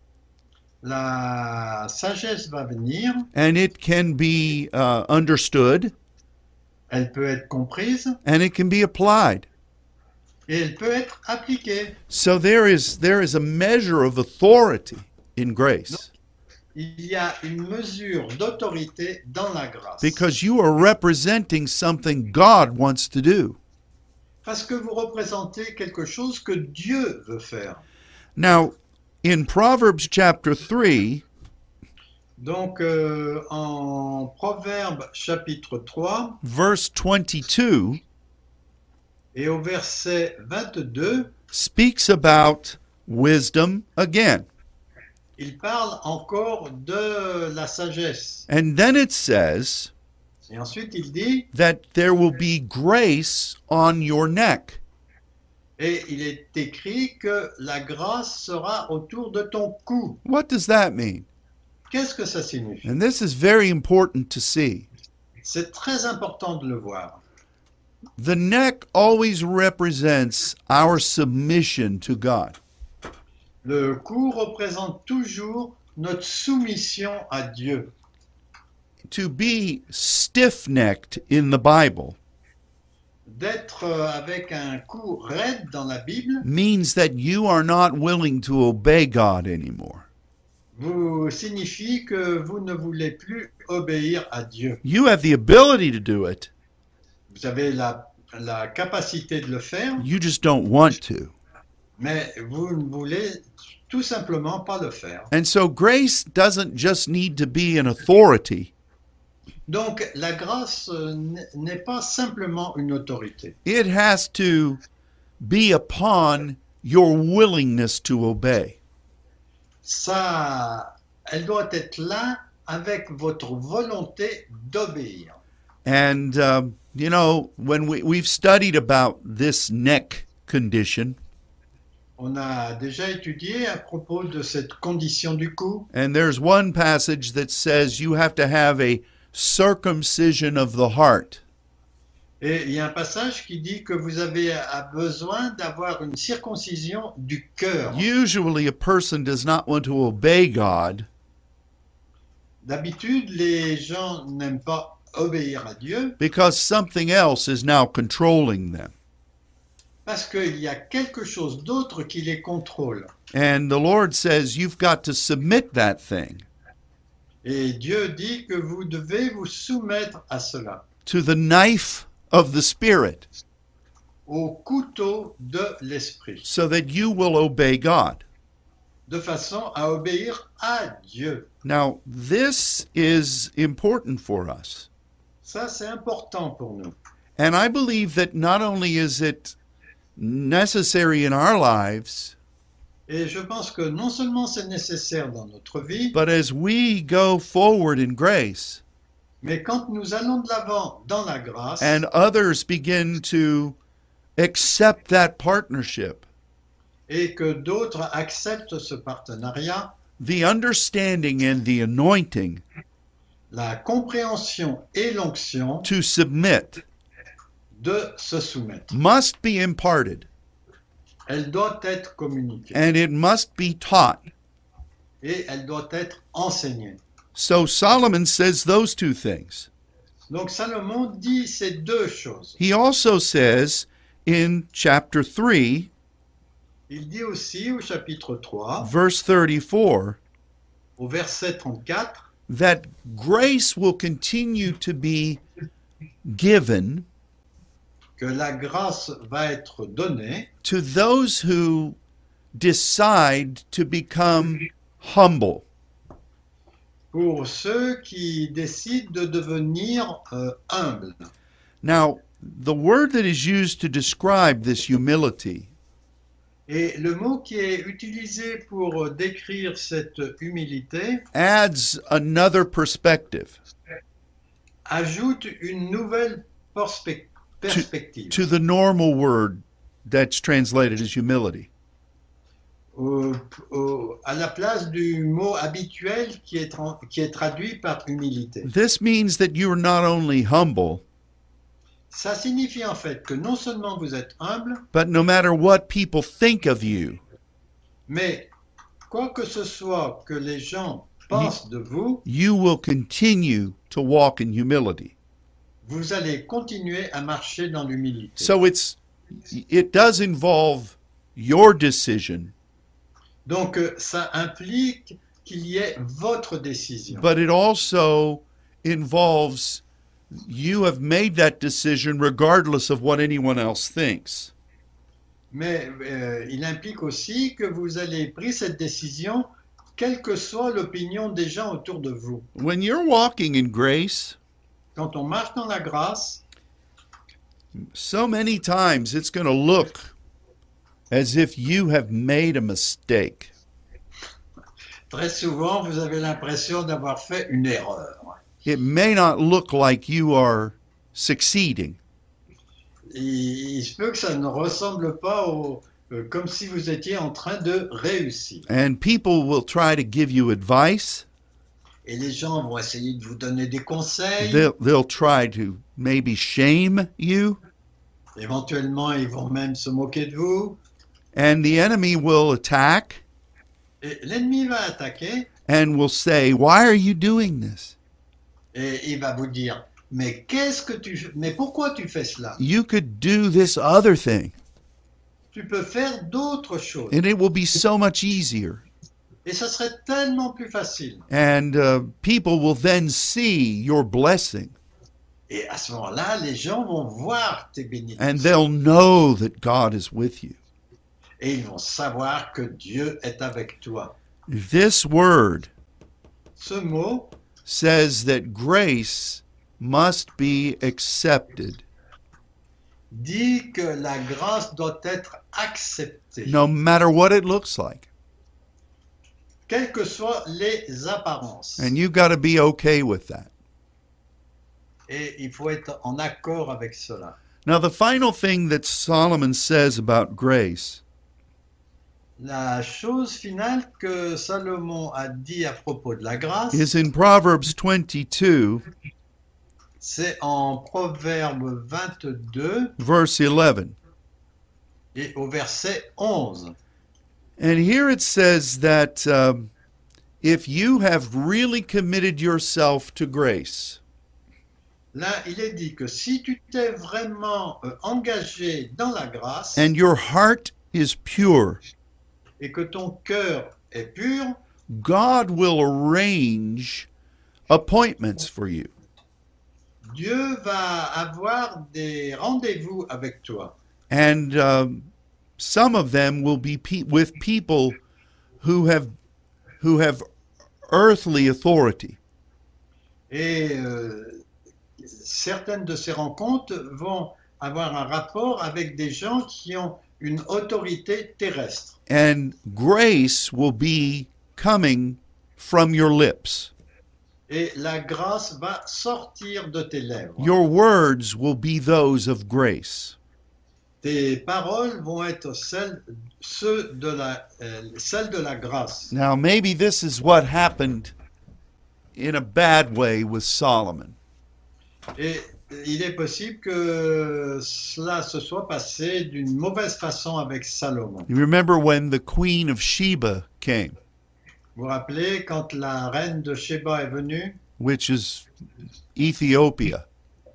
la sagesse va venir, and it can be uh, understood elle peut être comprise and it can be applied. et elle peut être appliquée. So there is there is a measure of authority in grace Il y a une mesure d'autorité dans la grâce. because you are representing something God wants to do. Parce que vous représentez quelque chose que Dieu veut faire. Now, in Proverbs chapter three, Donc, euh, en Proverbe chapitre trois verse twenty-two et au verset vingt-deux, speaks about wisdom again. il parle encore de la sagesse. And then it says, Et ensuite, il dit, that there will be grace on your neck. et il est écrit que la grâce sera autour de ton cou. What does that mean? Qu'est-ce que ça signifie? And this is very important to see. C'est très important de le voir. The neck always represents our submission to God. Le cou représente toujours notre soumission à Dieu. To be stiff-necked in the Bible D'être avec un cou raide dans la Bible means that you are not willing to obey God anymore. vous signifie que vous ne voulez plus obéir à Dieu. You have the ability to do it, Vous avez la, la capacité de le faire, you just don't want to. mais vous ne voulez tout simplement pas le faire. And so grace doesn't just need to be an authority. Donc la grâce euh, n- n'est pas simplement une autorité. It has to be upon your willingness to obey. Ça, elle doit être là avec votre volonté d'obéir. And, um, you know, when we, we've studied about this neck condition, On a déjà étudié à propos de cette condition du cou, and there's one passage that says you have to have a circumcision of the heart. et il y a un passage qui dit que vous avez a- besoin d'avoir une circoncision du cœur. Usually, a person does not want to obey God D'habitude, les gens n'aiment pas obéir à Dieu because something else is now controlling them. parce qu'il y a quelque chose d'autre qui les contrôle. And the Lord says you've got to submit that thing Et Dieu dit que vous devez vous soumettre à cela, to the knife of the Spirit au couteau de l'esprit, so that you will obey God. de façon à obéir à Dieu. Now, this is important for us. Ça, c'est important pour nous. And I believe that not only is it necessary in our lives, Et je pense que non seulement c'est nécessaire dans notre vie, but as we go forward in grace mais quand nous allons de l'avant dans la grâce, and others begin to accept that partnership, et que d'autres acceptent ce partenariat, the understanding and the anointing la compréhension et l'onction to submit de se soumettre. must be imparted, Elle doit être communiquée and it must be taught. et elle doit être enseignée. So Solomon says those two things. Donc Salomon dit ces deux choses. He also says in chapter three, Il dit aussi au chapitre trois, verse thirty-four, au verset trente-quatre, that grace will continue to be given que la grâce va être donnée to those who decide to become humble. pour ceux qui décident de devenir euh, humbles. Now, the word that is used to describe this humility Et le mot qui est utilisé pour décrire cette humilité adds another perspective ajoute une nouvelle perspe- perspective to the normal word that's translated as humility. au- au- à la place du mot habituel qui est, tra- qui est traduit par humilité. This means that you are not only humble, Ça signifie en fait que non seulement vous êtes humble, but no matter what people think of you, mais quoi que ce soit que les gens pensent de vous, you will continue to walk in humility. vous allez continuer à marcher dans l'humilité. So it's it does involve your decision, Donc euh, ça implique qu'il y ait votre décision. but it also involves you have made that decision regardless of what anyone else thinks. Mais euh, il implique aussi que vous allez pris cette décision, quelle que soit l'opinion des gens autour de vous. When you're walking in grace, Quand on marche dans la grâce, so many times it's going to look as if you have made a mistake. très souvent, vous avez l'impression d'avoir fait une erreur. it may not look like you are succeeding. Il, il se peut que ça ne ressemble pas au, euh, comme si vous étiez en train de réussir. And people will try to give you advice. Et les gens vont essayer de vous donner des conseils. They'll, they'll try to maybe shame you. Éventuellement, ils vont même se moquer de vous. And the enemy will attack Et l'ennemi va attaquer and will say, why are you doing this? et il va vous dire, mais qu'est-ce que tu, mais pourquoi tu fais cela? You could do this other thing, Tu peux faire d'autres choses. and it will be so much easier. Et ça serait tellement plus facile. And uh, people will then see your blessing, Et à ce moment-là, les gens vont voir tes and bénédictions. they'll know that God is with you. Et ils vont savoir que Dieu est avec toi. This word Ce mot says that grace must be accepted dit que la grâce doit être acceptée, no matter what it looks like. quelles que soient les apparences. And you've got to be okay with that. Et il faut être en accord avec cela. Now, the final thing that Solomon says about grace La chose finale que Salomon a dit à propos de la grâce, is in Proverbs twenty-two, c'est en Proverbe vingt-deux verse eleven. et au verset onze. And here it says that um, if you have really committed yourself to grace, Là, il est dit que si tu t'es vraiment euh, engagé dans la grâce and your heart is pure, et que ton cœur est pur, God will arrange appointments for you. Dieu va avoir des rendez-vous avec toi. And um, some of them will be pe- with people who have who have earthly authority. Et euh, certaines de ces rencontres vont avoir un rapport avec des gens qui ont une autorité terrestre. And grace will be coming from your lips. Et la grâce va sortir de tes lèvres. Your words will be those of grace. Tes paroles vont être celles, ceux de la, euh, celles de la grâce. Now, maybe this is what happened in a bad way with Solomon. Et il est possible que cela se soit passé d'une mauvaise façon avec Salomon. You remember when the queen of Sheba came, Vous vous rappelez quand la reine de Sheba est venue, which is Ethiopia.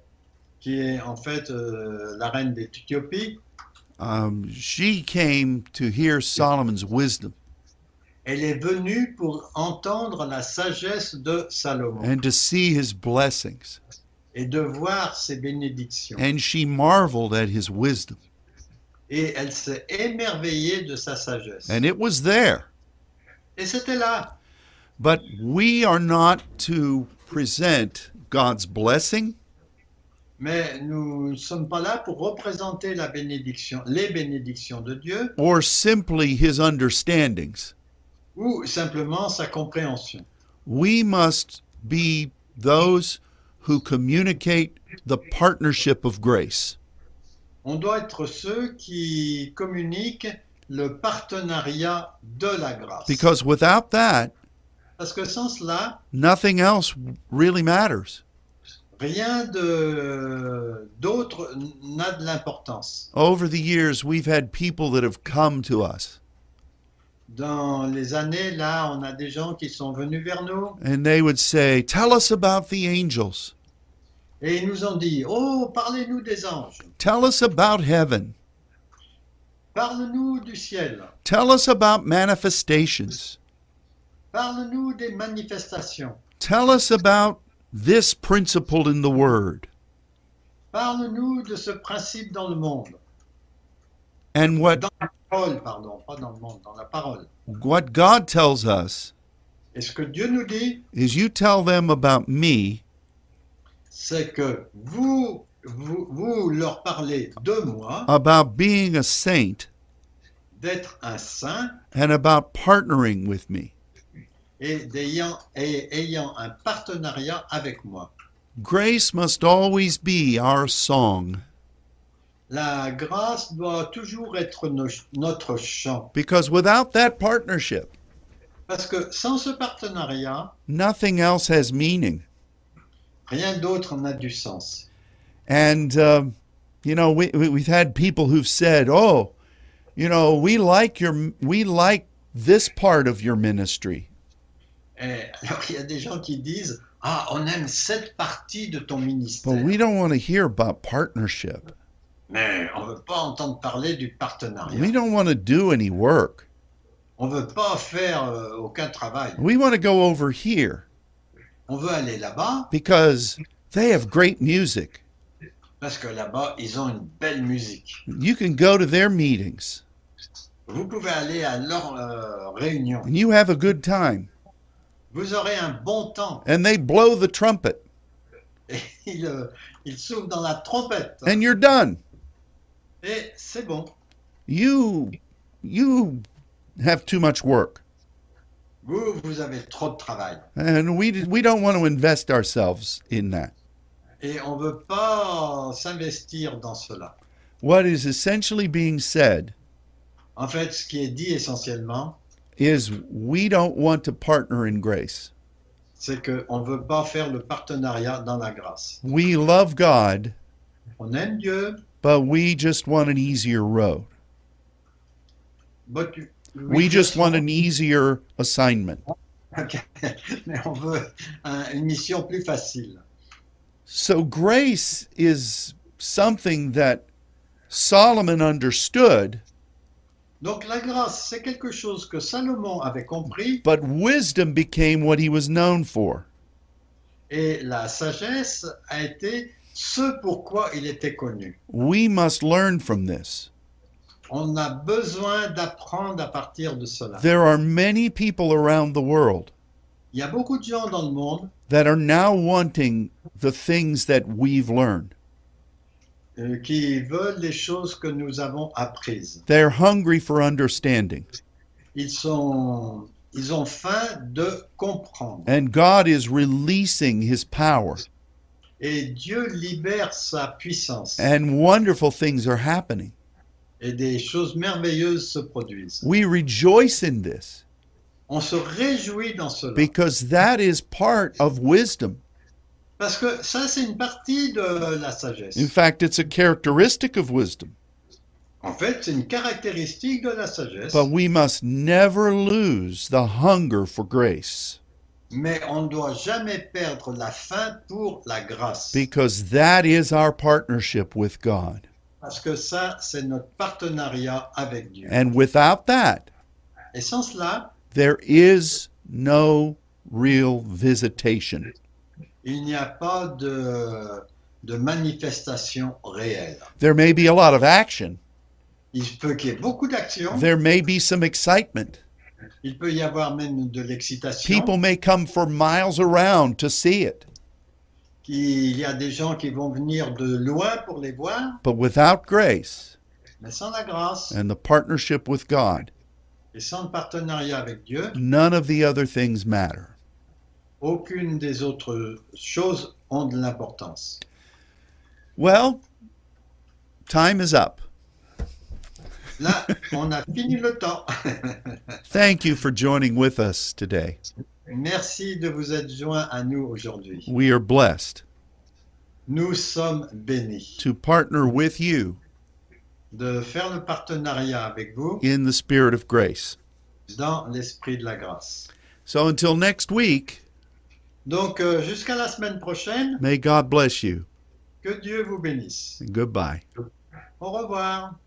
qui est en fait euh, la reine d'Éthiopie, Um, she came to hear Solomon's wisdom elle est venue pour entendre la sagesse de Salomon and to see his blessings. et de voir ses bénédictions. And she marveled at his wisdom. Et elle s'est émerveillée de sa sagesse. And it was there. Et c'était là. But we are not to present God's blessing Mais nous ne sommes pas là pour représenter la bénédiction, les bénédictions de Dieu or simply his understandings. ou simplement sa compréhension. We must be those who communicate the partnership of grace. On doit être ceux qui communiquent le partenariat de la grâce. Because without that, Parce que sans cela, nothing else really matters. rien de- d'autre n'a de l'importance. Over the years, we've had people that have come to us Dans les années, là, on a des gens qui sont venus vers nous and they would say, "Tell us about the angels. et ils nous ont dit, oh, parlez-nous des anges, Tell us about heaven. parle-nous du ciel, Tell us about manifestations. parle-nous des manifestations, Tell us about this principle in the Word." parle-nous de ce principe dans le monde. And what, Dans la parole, pardon, pas dans le monde, dans la parole. what God tells us Et ce que Dieu nous dit, is you tell them about me, c'est que vous, vous, vous leur parlez de moi, about being a saint, d'être un saint and about partnering with me. et, d'ayant, et ayant un partenariat avec moi. Grace must always be our song, La grâce doit toujours être no- notre chant. because without that partnership, Parce que sans ce partenariat, nothing else has meaning. rien d'autre n'a du sens. And, um, you know, we, we, we've had people who've said, oh, you know, we like your, we like this part of your ministry. Et alors, il y a des gens qui disent, ah, on aime cette partie de ton But ministère. we don't want to hear about partnership. Mais on ne veut pas entendre parler du partenariat. We don't want to do any work. On ne veut pas faire euh, aucun travail. We want to go over here On veut aller là-bas because they have great music. parce que là-bas, ils ont une belle musique. You can go to their meetings Vous pouvez aller à leur euh, réunion. and you have a good time. Vous aurez un bon temps. And they blow the trumpet Et ils, euh, ils soufflent dans la trompette. and you're done. Et c'est bon. You you have too much work. Vous, vous avez trop de travail. And we we don't want to invest ourselves in that. Et on ne veut pas s'investir dans cela. What is essentially being said En fait, ce qui est dit essentiellement, is we don't want to partner in grace. c'est qu'on ne veut pas faire le partenariat dans la grâce. We love God, On aime Dieu, but we just want an easier road. but We just want an easier assignment. Ok. Mais on veut un- une mission plus facile. So grace is something that Solomon understood, Donc la grâce, c'est quelque chose que Salomon avait compris but wisdom became what he was known for. et la sagesse a été ce pourquoi il était connu. We must learn from this. On a besoin d'apprendre à partir de cela. There are many people around the world Il y a beaucoup de gens dans le monde that are now wanting the things that we've learned. euh, qui veulent les choses que nous avons apprises. They're hungry for understanding. Ils sont, ils ont faim de comprendre. And God is releasing his power, Et Dieu libère sa puissance. and wonderful things are happening. Et des choses merveilleuses se produisent. We rejoice in this On se réjouit dans cela. because that is part of wisdom. Parce que ça, c'est une partie de la sagesse. In fact, it's a characteristic of wisdom. En fait, c'est une caractéristique de la sagesse. But we must never lose the hunger for grace, Mais on ne doit jamais perdre la faim pour la grâce. because that is our partnership with God. Parce que ça, c'est notre partenariat avec Dieu. And without that, Et sans cela, there is no real visitation. il n'y a pas de, de manifestation réelle. There may be a lot of action. Il peut qu'il y ait beaucoup d'actions. There may be some excitement. Il peut y avoir même de l'excitation. People may come for miles around to see it. Il y a des gens qui vont venir de loin pour les voir. But without grace Mais sans la grâce and the partnership with God, et sans le partenariat avec Dieu, none of the other things matter. aucune des autres choses ont de l'importance. Well, time is up. Là, on a fini le temps. Thank you for joining with us today. Merci de vous être joints à nous aujourd'hui. We are blessed Nous sommes bénis to partner with you de faire le partenariat avec vous in the spirit of grace. dans l'esprit de la grâce. So until next week, Donc, euh, jusqu'à la semaine prochaine, may God bless you. que Dieu vous bénisse. And goodbye. Au revoir.